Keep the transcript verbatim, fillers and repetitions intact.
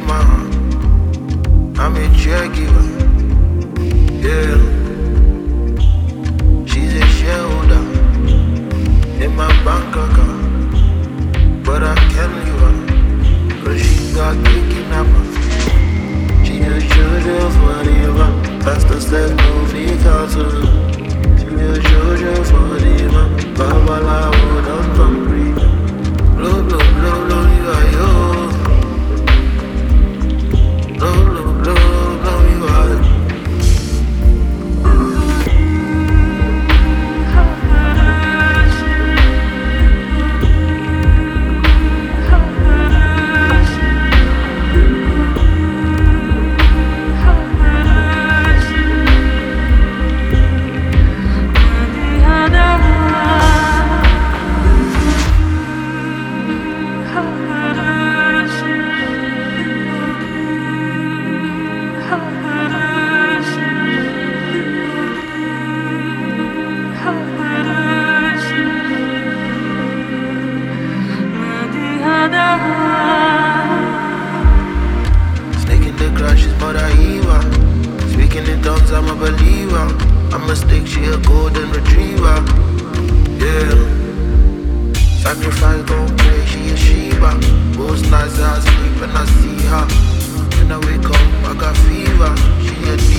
take my heart. I'm a caregiver, yeah. She's a shareholder in my bank account, but I can't leave her, cause she got kidnapped. She a Jojo for the man, pastor said no fee cancel. She a Jojo for the man, Babala would on concrete. Blow, blow, blow, blow, you are yo. Blow, blow, blow, blow, you are. I'm a believer. I mistake she a golden retriever. Yeah. Sacrifice gon' pray, she a Sheba. Most nights I sleep and I see her. When I wake up, I got fever. She a